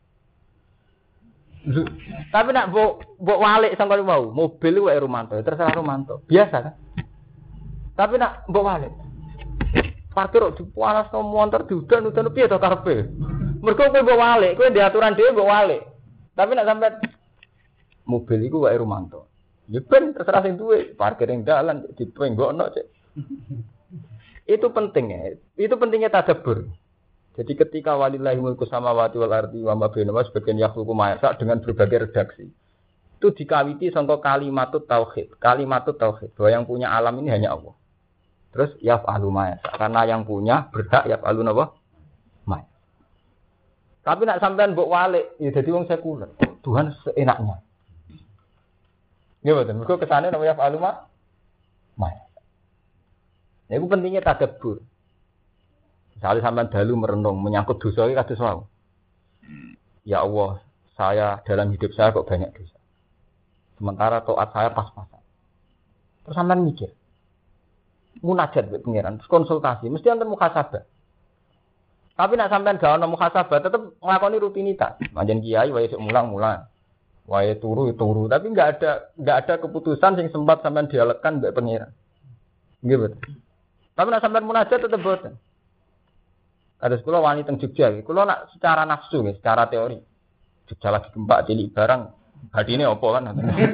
Tapi nak mbok walik sangka mau, mobil wae Romanto, terserah Romanto. Biasa kan? Tapi nak mbok walik. Parkir kok dipanasno montor diudan-udan piye to karepe? Mergo kowe mbok walik, kowe ndek aturan dhewe mbok walik. Tapi nak sampe mobil iku wae Romanto. Ya ben terserah sing duwe, parkir ning dalan dipenggokno cek. Itu penting ya. Itu pentingnya tadabbur. Jadi ketika walillahi mulku samawati wal ardi wa ma bainahuma sebagian yakhluqu ma yasha dengan berbagai redaksi. Itu dikawiti sangka kalimatut tauhid. Kalimatut tauhid bahwa yang punya alam ini hanya Allah. Terus yaf'alu ma yasha karena yang punya berhak yaf'alu napa? Ma. Tapi nak sampean mbok walik ya dadi wong sekuler. Tuhan seenaknya. Nggih mboten. Mergo kesane napa yaf'alu ma? Ma. Ya itu pentingnya tadabbur. Misalnya sampean dalu merenung menyangkut dosa iki kados wae. Ya Allah, saya dalam hidup saya kok banyak dosa. Sementara taat saya pas-pasan. Terus sampean mikir. Munajat mbek pangeran, konsultasi, mesti enten muhasabah. Tapi nek sampean gak ono muhasabah, tetep nglakoni rutinitas. Manjen kiai wae sik mulang-mulang. Wae turu, tapi enggak ada keputusan sing sempat sampean dialekkan mbek pangeran. Nggih, betul. Tapi nek sampean munajat tetep boten. Ada sekolah wanita teng Jogja, kula nak secara nafsu nggih, secara teori. Jogja lagi gempa cilik barang, hadine apa kan.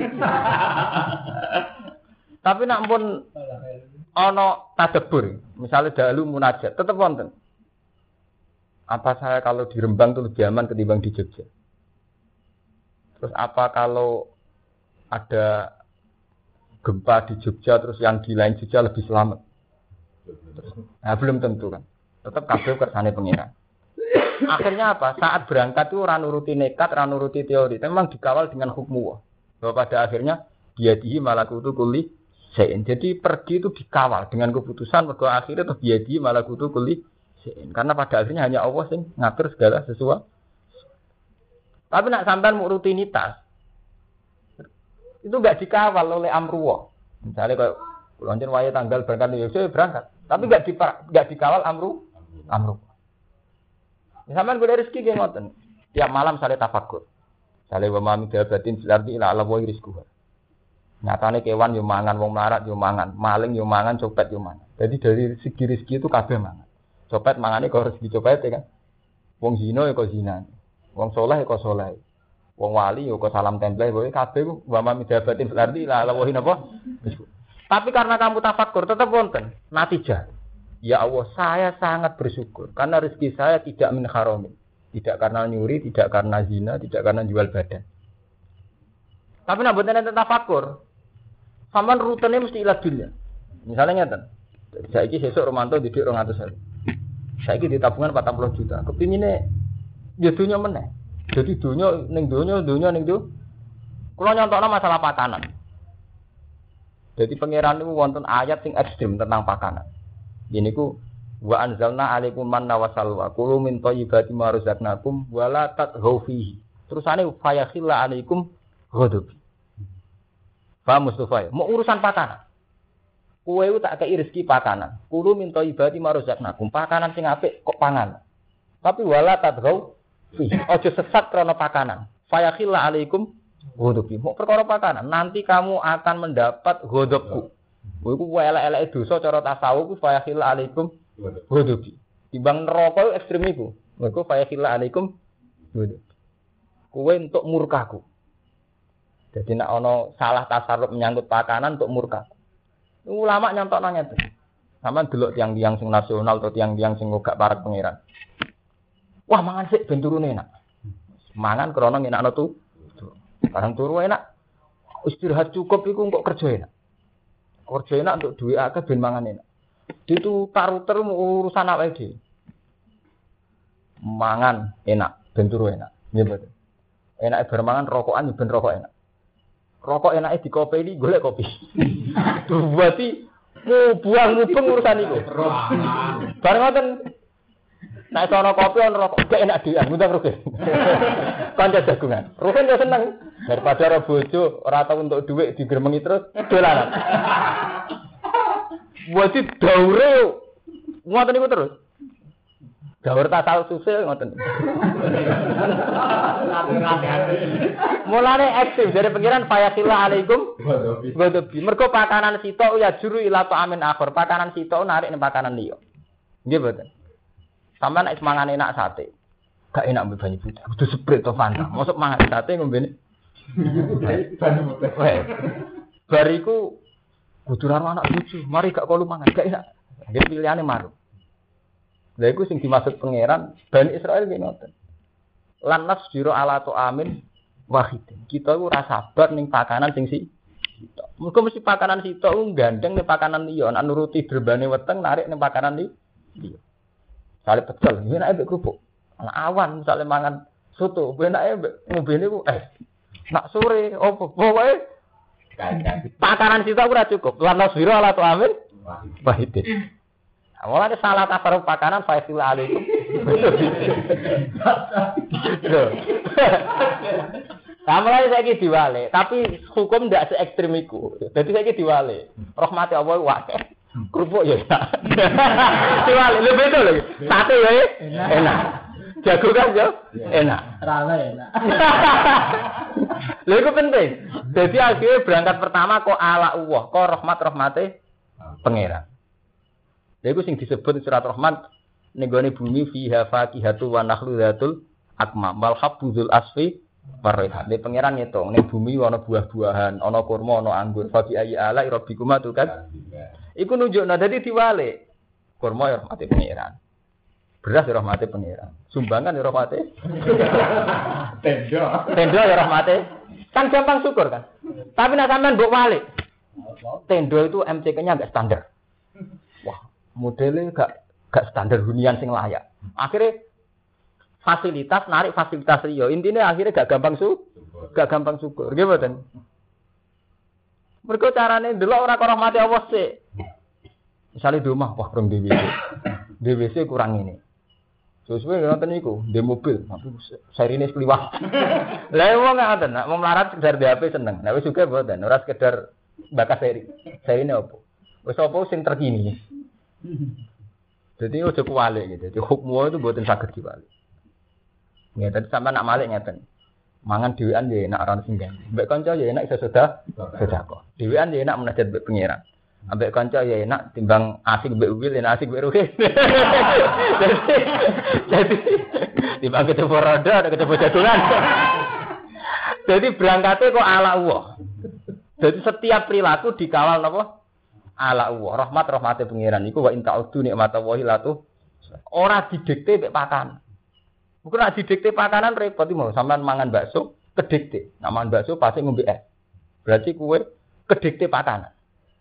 Tapi nak pun ana tadabbur, misalnya dalu munajat, tetep wonten. Apa saya kalau di Rembang itu lebih aman ketimbang di Jogja? Terus apa kalau ada gempa di Jogja terus yang di lain Jogja lebih selamat? Nah, belum tentu kan. Tetap kabeh kersane pengiran. Akhirnya apa? Saat berangkat itu ora nuruti nekat, ora nuruti teori, memang dikawal dengan hukmu. Bahwa pada akhirnya biadihi malakutu kulli syai'in. Jadi pergi itu dikawal dengan keputusan bahwa akhirnya itu biadihi malakutu kulli syai'in. Karena pada akhirnya hanya Allah sing ngatur segala sesuatu. Tapi nak sampean mau rutinitas itu enggak dikawal oleh amruwa. Misalnya kayak lonjen wae tanggal berangkat di Yogyakarta berangkat. Tapi enggak dikawal amru. Sampeyan golek rezeki nggih ngoten. Tiap malam sale tafakur. Sale wa mami dabatin fil ardi ila Allah wa rizquha. Nyatane kewan yo mangan, wong melarat yo mangan, maling yo mangan, copet yo mangan. Jadi dari segi rezeki itu kabeh mangan. Copet mangane kok rezeki copet kan. Wong zina yo kok zina. Wong saleh kok saleh. Wong wali yo kok salam tempel kowe kabeh wa mami dabatin fil ardi ila Allah wa napa. Tapi karena kamu tafakur tetap wonten natijah. Ya Allah, saya sangat bersyukur karena rezeki saya tidak min haramin. Tidak karena nyuri, tidak karena zina, tidak karena jual badan. Tapi nek mboten enten tafakur, sampean rutene mesti ilat dunya. Misalnya ngeten. Saiki sesuk Romanto didik 200.000. Saiki di tabungan 40 juta. Kepingine ya dunya meneh. Jadi dunya ning dunya ning dunya. Kula nyontokno masalah pakanan. Jadi pangeran niku wonten ayat sing ekstrem tentang pakanan. Ini ku wa anzalna alaikum manna wa salwa kulu min thayyibati ma razaqnakum wa la tatghaw fihi. Terusane fa yakhilla alaikum ghadab. Pak Mustafa, mau urusan pakanan. Kowe tak kei rezeki pakanan. Kulu min thayyibati ma razaqnakum. Pakanan sing apik kok pangan. Tapi wa la tatghaw fihi. Aja sesat krana pakanan. Fa yakhilla alaikum ghadab. Mau perkara pakanan, nanti kamu akan mendapat ghadabku. Kowe iku elek-eleke dosa cara tasawuf ku fa yakhil alaikum ghadabi. Timbang neraka ekstrem iku. Mergo fa yakhil alaikum ghadabi. Kowe entuk murkaku. Jadi nek ana salah tasarruf menyangkut pakanan entuk murka. Ulama nyontokno ngeten. Sampeyan delok tiang-tiang sing nasional atau tiang-tiang sing gak parek pangeran. Wah, mangan sik ben turune enak. Mangan krana ngenakno tu. Barang turu enak. Istirahat cukup iku kok kerja enak. Kerja enak untuk duit akeh ben mangan enak. Itu taruter urusan awake dhewe. Mangan enak, ben turu enak. Nggih betul. Enake bar mangan rokokan ben rokok enak. Rokok enake dikopeni golek kopi. Berarti buang mubeng urusan iku. Bareng ngoten Nek sono kopi ono rokok gak enak dhewean, ngundang Rukin. Kanca jagungan. Rukin yo seneng daripada ora bojo, ora tau untuk dhuwit digremengi terus dolanan. Wadi daure ngoten niku terus. Daur tasal susil ngoten. Mulane ekstrim dari pengiran fayasila alaikum godobi. Mergo pakanan sitok ya juru ila amin akhir. Pakanan sitok narik ning pakanan liya. Nggih mboten. Sampeyan nek semangan enak sate. Gak enak mbek banyu putih. Kudu seprit to Fanta. Mosok mangan sate ngombene. Banyu putih. Bariku kudu karo anak bojo. Mari gak kolu mangan. Gak enak. Nggih pilihane marung. Lha iku sing dimaksud pangeran Bani Israil ki ngoten. Lan nasjiro ala tu amin wahidin. Kita iku ora sabar ning pakanan sing sitok. Muga mesti pakanan sitok ku gandeng ning pakanan liya, nek nuruti drebane weteng narik ning pakanan liya. Sale pecel, yen nek kerupuk. Ana awan misale mangan soto, enake ngombene ku nak sore opo pokoke pakanan sitok ora cukup. Lan nasjiro ala tu amin wahidin. Awalnya salah tafaruq pakanan faisil alaikum. Sampai saiki diwale, tapi hukum ndak se ekstrem iku. Dadi saiki diwale. Rahmati Allah wae. Kerupuk ya enak. Diwale lho betul lho. Sate ya enak. Jago kan yo enak. Rame enak. Lha iku penting. Dadi akhirnya berangkat pertama kok ala Allah, kok rahmate pangeran. Lha iku sing disebut surat Rahman ning gone bumi fiha faqihatu wa nakhlu dzatul akmam wal habbuzul asfi waraihan. Nek pangeran ngitung ning bumi ana buah-buahan, ana kurma, ana anggur. Faqi ayi ala rabbikuma tukat. Iku nunjukna dadi diwale. Kurma ya rahmate pangeran. Beras ya rahmate pangeran. Sumbangan ya rahmate. Tenda ya rahmate. Kan gampang syukur kan. Tapi nek sampean mbok wale. Tenda itu MCK-nya enggak standar. Modelnya gak standar hunian sing layak. Akhirnya fasilitas narik fasilitas liya. Intinya akhirnya gak gampang syukur. Nggih mboten. Mergo carane ndelok ora karo rahmati Allah sik. Misale di omah wah rong DWC. DWC kurang ini. Sesuai ngoten niku, di mobil, tapi serine kliwat. Lah wong ngoten, nek mau melarat sekedar di HP seneng. Nek wis juga mboten, ora sekedar bakas seri. Serine opo? Wis opo sing terkini. Jadi ojo kuwalik gitu. Jadi hukmu itu mboten saged diwalik. Nggih, tadi sampean nak malik ngeten. Mangan dhewean ya enak ora sing ganti. Mbek kanca ya enak iso sedekah. Dhewean ya enak munajat mbek pangeran. Ambek kanca ya enak timbang asik mbek wil enak asik mbek ruhin. Jadi timbang ketemu roda ada ketemu jagungan. Jadi berangkatnya kok ala Allah. Jadi setiap perilaku dikawal napa? Ala Allah, rahmate pangeran iku wa inta udu nikmatallahi latu ora didikte mek pakanan. Bukan nek didikte pakanan repot mau sampean mangan bakso kedikte. Nek mangan bakso pasti ngombe es. Berarti kuwe kedikte pakanan.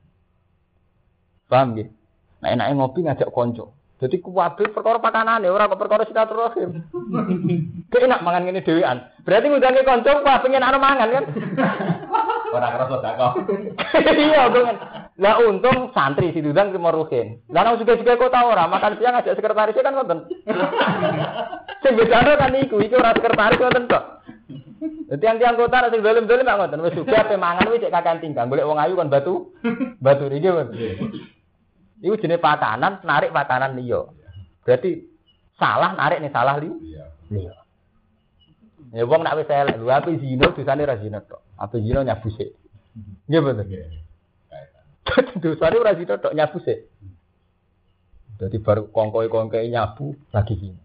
Paham nggih? Nek enake ngopi ngajak kanca. Dadi kuwabe perkara pakanane ora kok perkara silaturahim. Kok enak mangan ngene dhewean. Berarti ngundange kanca wah pengen ana mangan kan. Ora kerasa dakok. Iya, kan. Lah untung santri si Dudang terima ruhin. Lah nang juga kok tau ora makan siang ngajak sekretarisnya kan ngoten. Sing bedane kan iku ora sekretaris ngoten tok. Dadi tiang-tiang kota sing dolim-dolim mak ngoten wis juga ape mangan wis cek kakean tinggal golek wong ayu kon batu. Batu iki men. Iku jenenge pakanan, narik pakanan liya. Berarti salah narik nih salah liya. Ya wong nek wis elek lho ape zina dosane ra zina tok. Ape zina nyabu sik. Nggih bener. Dosane ora zina tok nyabu sik. Dadi baru kongkoe-kongkoe nyabu lagi zina.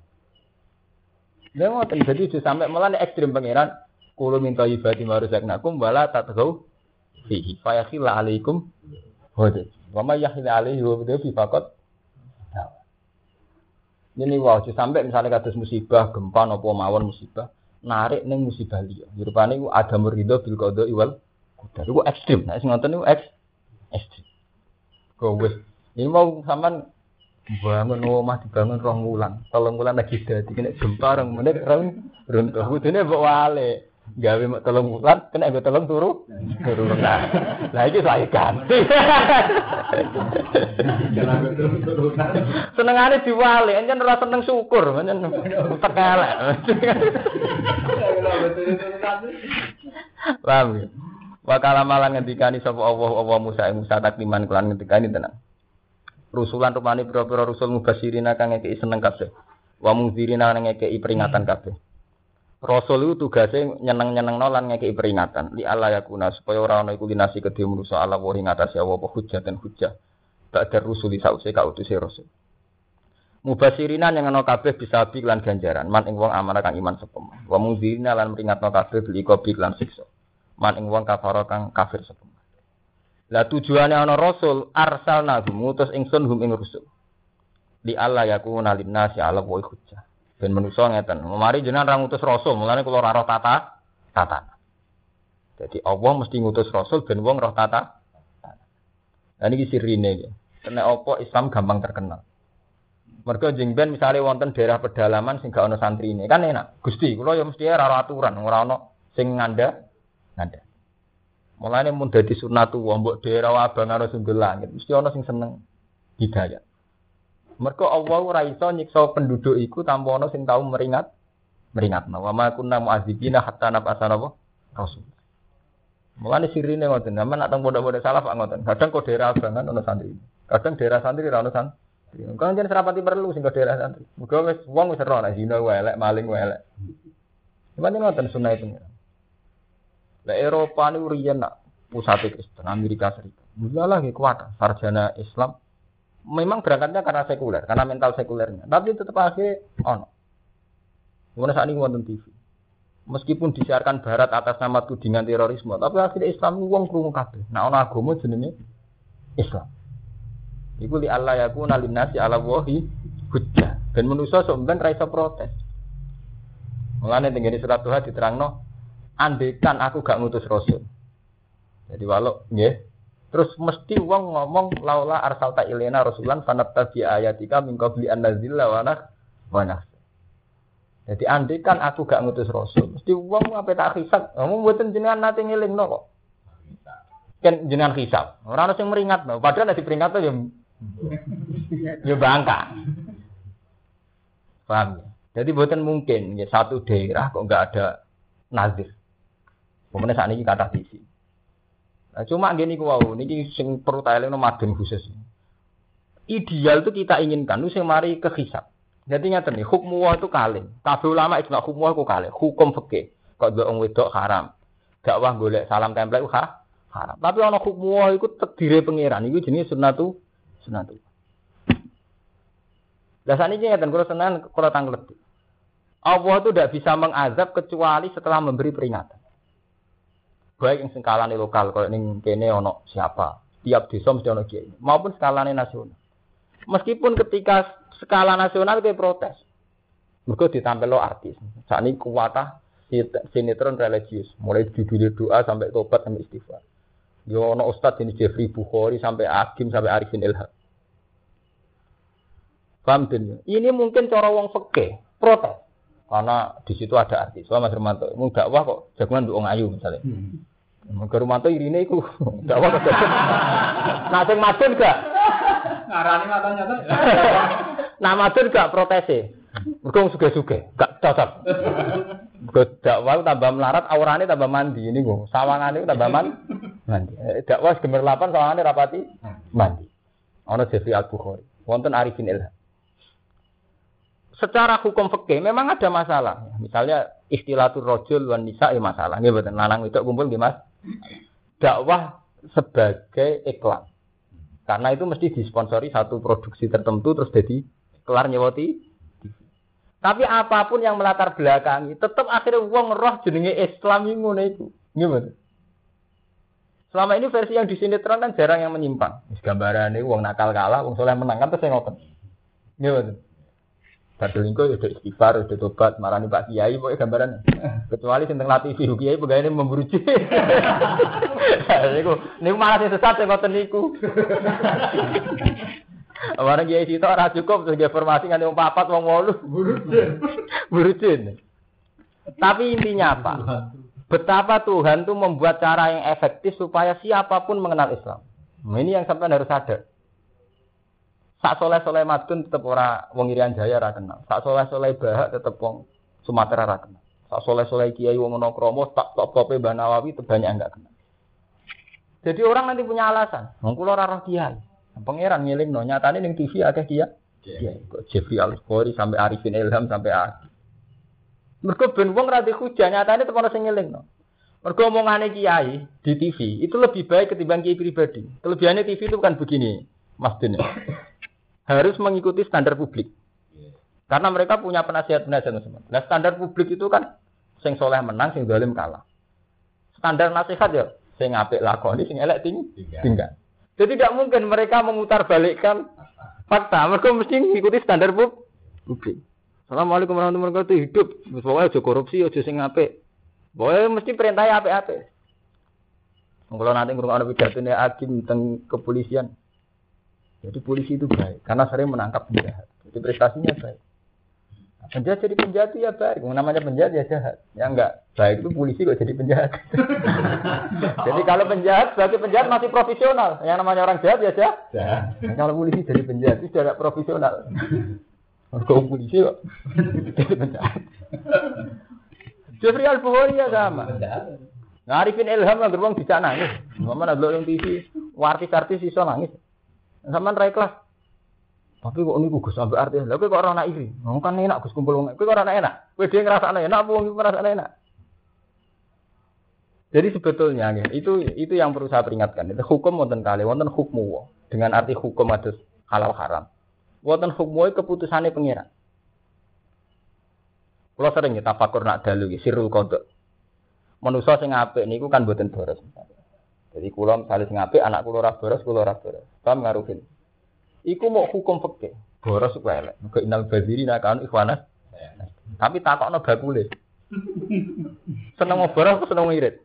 Lha ngoten dadi aja sampe melane ekstrem pangeran kulo minta ibadi maruzaknakum wala tatgau fihi fayakhil alaikum hode. Wa may yakhil alaihi wa bi faqat. Ini wae sampai misalnya kados musibah, gempa napa mawon musibah, narik ning musibah liya. Rupane iku ada murido bil qada wal qadar. Iku ekstrem. Nek sing ngoten niku ekstrem. Kok wis ini mau sampean bangun omah dibangun 2 wulan, 3 wulan lagi dadi nek gempa 2 menit runtuh. Kudune mbok wale. Gawe mek 3 bulan kena nggo 3 turu. Nah. Lah iki saya ganti. Senengane diwali, encen ora seneng syukur, encen tekelek. Paham ya? Wakala malan ngendikani sapa Allah Musa takliman kelan ngendikani tenan. Rusulan rupane pira-pira rusul mubasirina kang ngekeki seneng kabeh. Wa mungzirina kang ngekeki peringatan kabeh. Rasul itu tugasnya nyeneng-nyenengno lan ngekeki peringatan. Li Allah yakuna supaya ora ana iku linasi kedhe manusa ala wa ing atase apa hujjah dan hujjah. Ba'da rusuli sause kautuse rasul. Mubasirina nyenengno kabeh bisa bi lan ganjaran. Man ing wong amanah kang iman sepem. Wa mungzirina lan peringatno kabeh bil iqabi lan siksa. Man ing wong kafara kang kafir sepem. Lah tujuane ana rasul arsalna ngutus ingsun hum ing rusul. Li Allah yakuna linnasi ala wa hujjah. Ben manusa ngeten. Mari jenengan ra ngutus rasul, mulane kula ora roh tata. Jadi Allah mesti ngutus rasul ben wong roh tata. Lah niki sirine iki. Nek apa Islam gampang terkenal. Mergo jeng ben misale wonten daerah pedalaman sing gak ana santrine, kan enak. Gusti, kula ya mesti ora aturan, ora ana sing ngandha. Mulane mun dadi sunatu wa mbok daerah abang karo sundul langit, mesti ana sing seneng hidayah. Mergo Allah ora iso nyiksa penduduk iku tanpa ana sing tau meringatno. Wa ma kunna mu'adzibina hatta nab'atsa rasul. Mulane sirine ngoten, sampeyan nak teng pondok-pondok salaf ngoten. Kadang kok daerah abangan ana santri. Kadang daerah santri ora ana santri. Kan jen serapati perlu sing kok daerah santri. Muga wis wong wis ora nek zina wae elek, maling wae elek. Sampeyan ngoten sunah itu. Lah Eropa niku riyen nak pusat Kristen Amerika Serikat. Mulalah nggih kuat sarjana Islam. Memang berangkatnya karena sekuler, karena mental sekulernya. Tapi tetap akhirnya ono. Mana saat ini wonten TV. Meskipun disiarkan Barat atas nama tudingan terorisme, tapi akhirnya Islam wong krungu kabeh. Nah ana agama jenenge Islam. Iku li Allah yakuna linnasi ala wahi hujjah. Ben manusa sok ben ra iso protes. Mulane tengene surat Tuhan diterangno, andekan aku gak ngutus rasul. Jadi walau nggih terus mesti wong ngomong laula arsalta ilaina rasulan fanattabi ayatika min qabli an nazilla wa nah. Jadi andekan aku gak ngutus rasul, mesti wong ape tak hisab. Ngomong mboten jenengan nate ngelingno kok. Kan jenengan hisab. Ora ono sing meringatno, padahal nek diperingatno ya bangka. Paham ya? Jadi mboten mungkin ya satu daerah kok enggak ada nazir. Pemene sakniki kathah diisi. Nah, cuma gini ku wau niki sing perlu tak elingno madhen khusus. Ideal itu kita inginkan nu sing mari ke hisab. Jadi ngaten nih, hukum wa itu kalih. Kabeh ulama ijma hukum wa iku kalih. Hukum fikih. Kok wong wedok haram. Dakwah golek salam template haram. Tapi ana hukum wa iku takdire pangeran. Iku jenenge sunnatu. Lah saniki ngaten kula tenan kula tanglet. Allah itu tidak bisa mengazab kecuali setelah memberi peringatan. Baik yang skalane lokal, kalau ning kene ono siapa, tiap desa mesti ono kiai, maupun skalane nasional. Meskipun ketika skala nasional dia protes, mergo ditampilno artis. Sakniki kuwatah sinetron religius, mulai judul doa sampai tobat sampai istighfar. Yo ono ustaz ini Jeffrey Bukhari sampai Hakim sampai Arifin Ilham. Paham den? Ini mungkin cara wong fikih protes. Karena di situ ada artis. Soal Mas Romanto, mau dakwah kok jagungan mbok ayu misalnya. Mas Romanto irine iku dakwah kok. Nah sing madun gak? Ngarani matanya to. Nah madun gak protese. Mergo suge-suge, gak cocok. Mergo dakwah tambah melarat, aurane tambah mandi niku. Sawangane tambah mandi. Dakwah gemerlapan sawangane rapati mandi. Ana Jeffrey Al-Bukhari, wonten Arifin Ilham. Secara hukum fikih memang ada masalah. Misalnya ikhtilatur rajul wan nisa masalah. Nggih mboten lanang wedok kumpul nggih Mas. Dakwah sebagai iklan. Karena itu mesti disponsori satu produksi tertentu terus jadi kelar nyewoti. Tapi apapun yang melatar belakangi tetap akhirnya wong roh jenenge Islam iki ngono iku. Nggih mboten. Selama ini versi yang di sinetron kan jarang yang menyimpang. Wis gambarane wong nakal kalah, wong saleh menang kan terus ngoten. Nggih mboten. Badulingko ya istighfar, udah tobat, marani Pak Kiai pokoknya gambaran. Kecuali sing teng Latifi Kiai pegawene memburu jin. Niku malah sing sesat sing ngoten niku. Barang Kiai sitok ora cukup terus informasi nganti wong 4 wong 8 buru jin. Tapi intinya apa? Betapa Tuhan tuh membuat cara yang efektif supaya siapapun mengenal Islam. Nah, ini yang sampean harus sadar. Sak soleh-soleh Madun tetep ora wong Irian Jaya ra kenal. Sak soleh-soleh Bahak tetep wong Sumatera ra kenal. Sak soleh-soleh Kiai wong Monokromo tak top-tope Mbah Nawawi itu banyak enggak kenal. Jadi orang nanti punya alasan. Wong kula ora roh kiai. Pangeran ngelingno nyatane ning TV akeh kiai. Kiai kok Jeffrey Al-Bukhari sampai Arifin Ilham sampai Aki. Mergo ben wong ra dihujah nyatane tepan sing ngelingno. Mergo omongane kiai di TV itu lebih baik ketimbang kiai pribadi. Kelebihannya TV itu bukan begini, Mas Din. Harus mengikuti standar publik. Karena mereka punya penasihat-penasihat semua. Nah, standar publik itu kan sing soleh menang, sing zalim kalah. Standar nasihat ya sing apik lakoni, sing elek tinggal. Jadi tidak mungkin mereka memutarbalikkan fakta. Mereka mesti mengikuti standar publik. Assalamualaikum warahmatullahi wabarakatuh. Hidup, pokoknya aja korupsi, aja sing apik. Pokoknya mesti perintahnya apik-apik. Kalau nanti ngurung pidatone hakim tentang kepolisian. Jadi polisi itu baik karena sering menangkap penjahat. Jadi prestasinya baik. Nah, penjahat jadi penjahat itu ya baik. Namanya penjahat ya jahat. Yang enggak baik itu polisi kok jadi penjahat. Jadi kalau penjahat sebagai penjahat masih profesional. Yang namanya orang jahat ya jahat. Kalau polisi jadi penjahat itu tidak profesional. Kalau polisi kok jadi penjahat. Jeffrey Al-Bukhari ya sama. Arifin Ilham lah gerbang bisa nangis. Mana ada yang TV, artis-artis iso nangis. Sampean ra ikhlas. Tapi kok niku Gus sampai artis. Lha kowe kok ora ana iri. Wong kan enak Gus kumpul wong. Kowe kok ora enak. Kowe dhewe ngrasakno enak apa wong iku ngrasakno enak. Jadi sebetulnya itu yang perlu saya peringatkan. Itu hukum wonten kali, wonten hukmu. Dengan arti hukum adus halal haram. Wonten hukmu keputusane pengira. Kula sering tafakur nak dalu iki sirul qada. Manusa sing apik niku kan mboten boros. Jadi kula misale sing apik anak kula ora boros, kula ora boros. Paham ngaruhin. Iku mau hukum fikih. Boros kok elek. Muga inal bazirina kan ikhwanas. Tapi takokno bakule. Seneng mau boros apa seneng irit?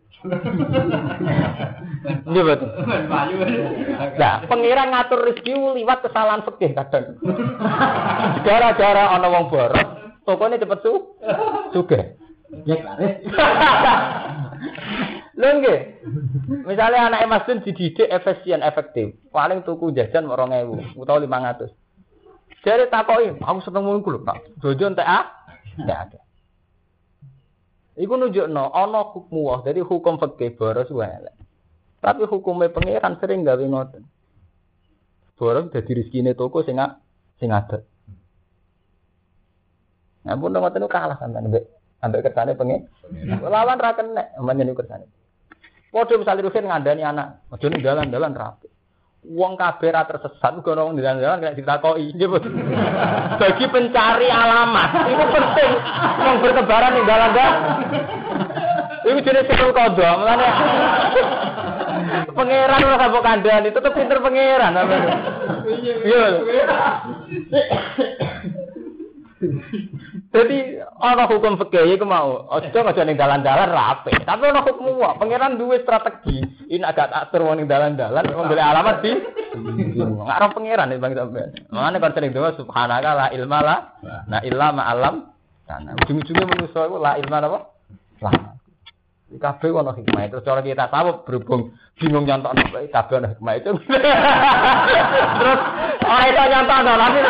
Nggih betul. Nah, pengiran ngatur rezeki liwat kesalahan fikih kadang. Gara-gara ana wong boros, tokone cepet sugih. Ya laris. Lho nggih. Misale anake Mas Dun dididik efisien, efektif. Paling tuku jajan 2.000 utawa 500. Jare takoki, aku seneng ngono ku lho, Pak. Jojo entek enggak ada. Iku nunjukno ana hukum wah, dadi hukum fikih boros wae elek. Tapi hukume pangeran sering gawe ngoten. Boros dadi rezekine toko sing adat. Nah, pun ngoten kalah sampean ambek kersane pengen. Lawan ra kenek, menyen kersane. Padha misale Rusin ngandani anak, aja ning dalan-dalan rapi. Wong kabeh ra tersesat uga ono dalan-dalan kena ditakoki. Nggih, Bos. Bagi pencari alamat, itu penting. Wong bertebaran ning dalan-dalan. Iku jenenge sirul qada, mulane pangeran ora sabuk kandhani, tetep pinter pangeran. Iya. Jadi ana hukum fikih iku mau aja ning dalan-dalan rapi. Tapi ana hukum wae. Pangeran duwe strategi. Ini agak atur wong ning dalan-dalan wong golek alamat di. Ngarep pangeran Bang sampean. Mane kon sering doa subhanaka la ilma la na illa ma alam. Karena ujung-ujungnya manusa iku la ilma apa? Lah. Iki kabeh ana hikmah. Terus cara kita tahu berhubung bingung nyontokno kabeh ana hikmah itu. Terus ora iso nyontokno nanti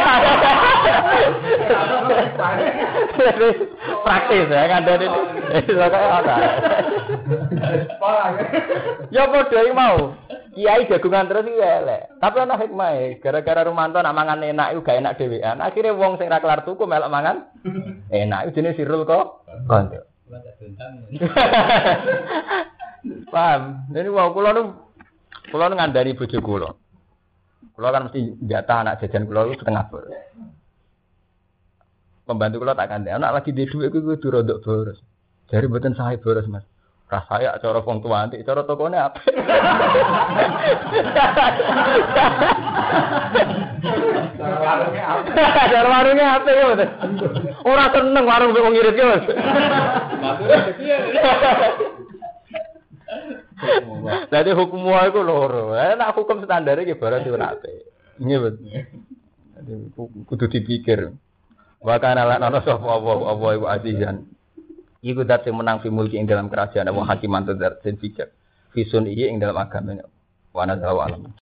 praktis ya ngandani iso kaya ana. Ya padha iki mau. Kiai jagungan terus iki elek. Tapi ana hikmah gara-gara Rumanto nak mangan enak iku gak enak dhewean. Akhire wong sing ra kelar tuku melok mangan enak. Iku jenenge sirul kok. Konco. Paham. Jadi wau kula nu ngandani bojo kula. Kula kan mesti jatah anak jajan kula itu setengah boros. Pembantu kula tak kandhani, anak lagi di dhuwit kuwi kudu rodok boros. Jare mboten sae boros, Mas. Rasaya cara wong tuwa antik, cara tokone apik. Cara warunge apik ya, Mas. Ora seneng warung wong ngirit ki, Mas. Dadi hukum wae iku loro. Nek hukum standar iki barang ora apik. Nggih, Mas. Dadi kudu dipikir. Wa kana la ana sapa apa iku azizan. Iku dat sing menang fi mulki ing dalam kerajaan wa hakiman tu dat sing bijak. Fi sun ing dalam agama. Wa nadzawa alam.